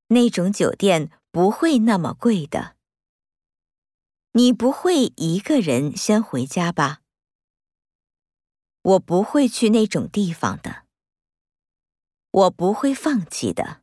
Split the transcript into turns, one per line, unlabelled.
那种酒店不会那么贵的。你不会一个人先回家吧？我不会去那种地方的。我不会放弃的。